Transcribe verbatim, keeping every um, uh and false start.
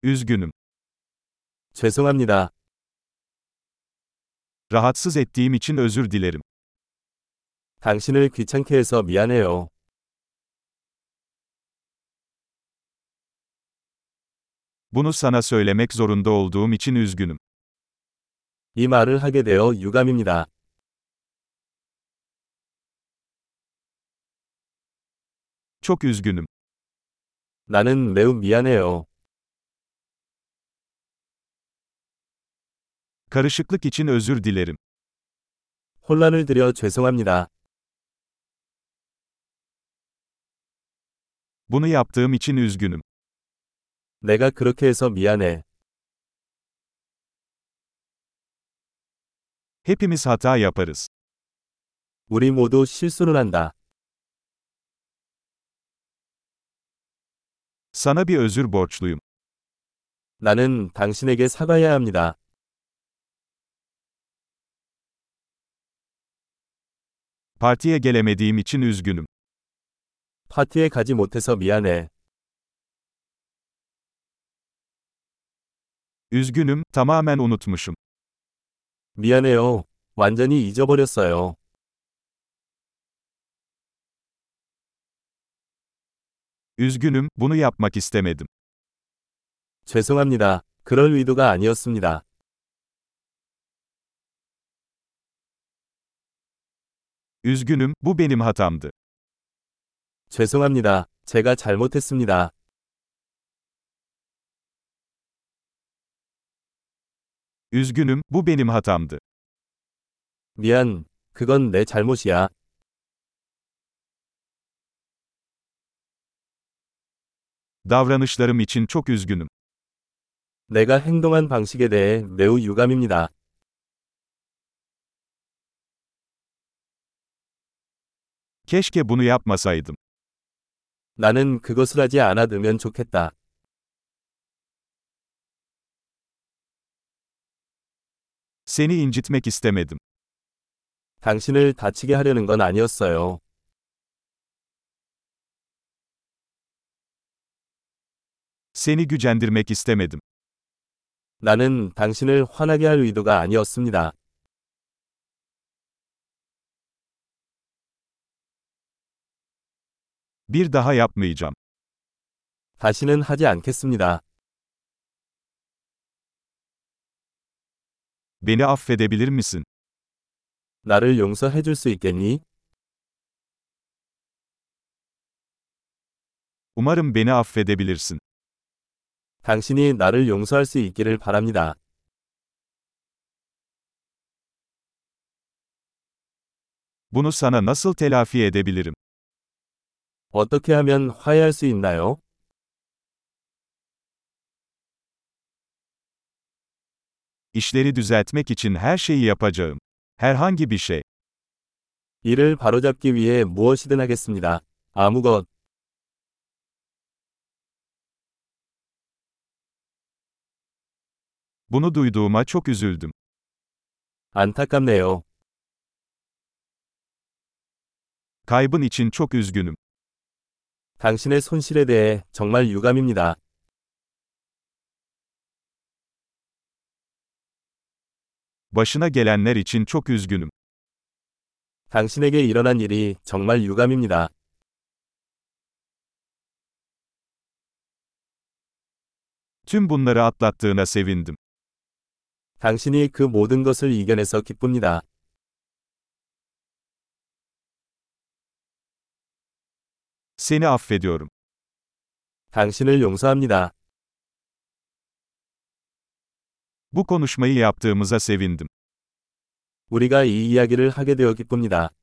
Üzgünüm. 죄송합니다. Rahatsız ettiğim için özür dilerim. 당신을 귀찮게 해서 미안해요. Bunu sana söylemek zorunda olduğum için üzgünüm. 이 말을 하게 되어 유감입니다. Çok üzgünüm. 나는 매우 미안해요. Karışıklık için özür dilerim. 혼란을 드려 죄송합니다. Bunu yaptığım için üzgünüm. 내가 그렇게 해서 미안해. Hepimiz hata yaparız. 우리 모두 실수를 한다. Sana bir özür borçluyum. 나는 당신에게 사과해야 합니다. Partiye gelemediğim için üzgünüm. 파티에 가지 못해서 미안해. Üzgünüm, tamamen unutmuşum. 미안해요. 완전히 잊어버렸어요. Üzgünüm, bunu yapmak istemedim. 죄송합니다. 그럴 의도가 아니었습니다. Üzgünüm, bu benim hatamdı. 죄송합니다. 제가 잘못했습니다. Üzgünüm, bu benim hatamdı. 미안. 그건 내 잘못이야. Davranışlarım için çok üzgünüm. 내가 행동한 방식에 대해 매우 유감입니다. Keşke bunu yapmasaydım. 나는 그것을 하지 않아두면 좋겠다. Seni incitmek istemedim. 당신을 다치게 하려는 건 아니었어요. Seni gücendirmek istemedim. 나는 당신을 화나게 할 의도가 아니었습니다. Bir daha yapmayacağım. 다시는 하지 않겠습니다. Beni affedebilir misin? 나를 용서해 줄 수 있겠니? Umarım beni affedebilirsin. 당신이 나를 용서할 수 있기를 바랍니다. Bunu sana nasıl telafi edebilirim? 어떻게 하면 화해할 수 있나요? İşleri düzeltmek için her şeyi yapacağım. Herhangi bir şey. 이를 바로잡기 위해 무엇이든 하겠습니다. 아무것. Bunu duyduğuma çok üzüldüm. 안타깝네요. Kaybın için çok üzgünüm. 당신의 손실에 대해 정말 유감입니다. Başına gelenler için çok üzgünüm. 당신에게 일어난 일이 정말 유감입니다. Tüm bunları atlattığına sevindim. 당신이 그 모든 것을 이겨내서 기쁩니다. Seni affediyorum. 당신을 용서합니다. Bu konuşmayı yaptığımıza sevindim. 우리가 이 이야기를 하게 되어 기쁩니다.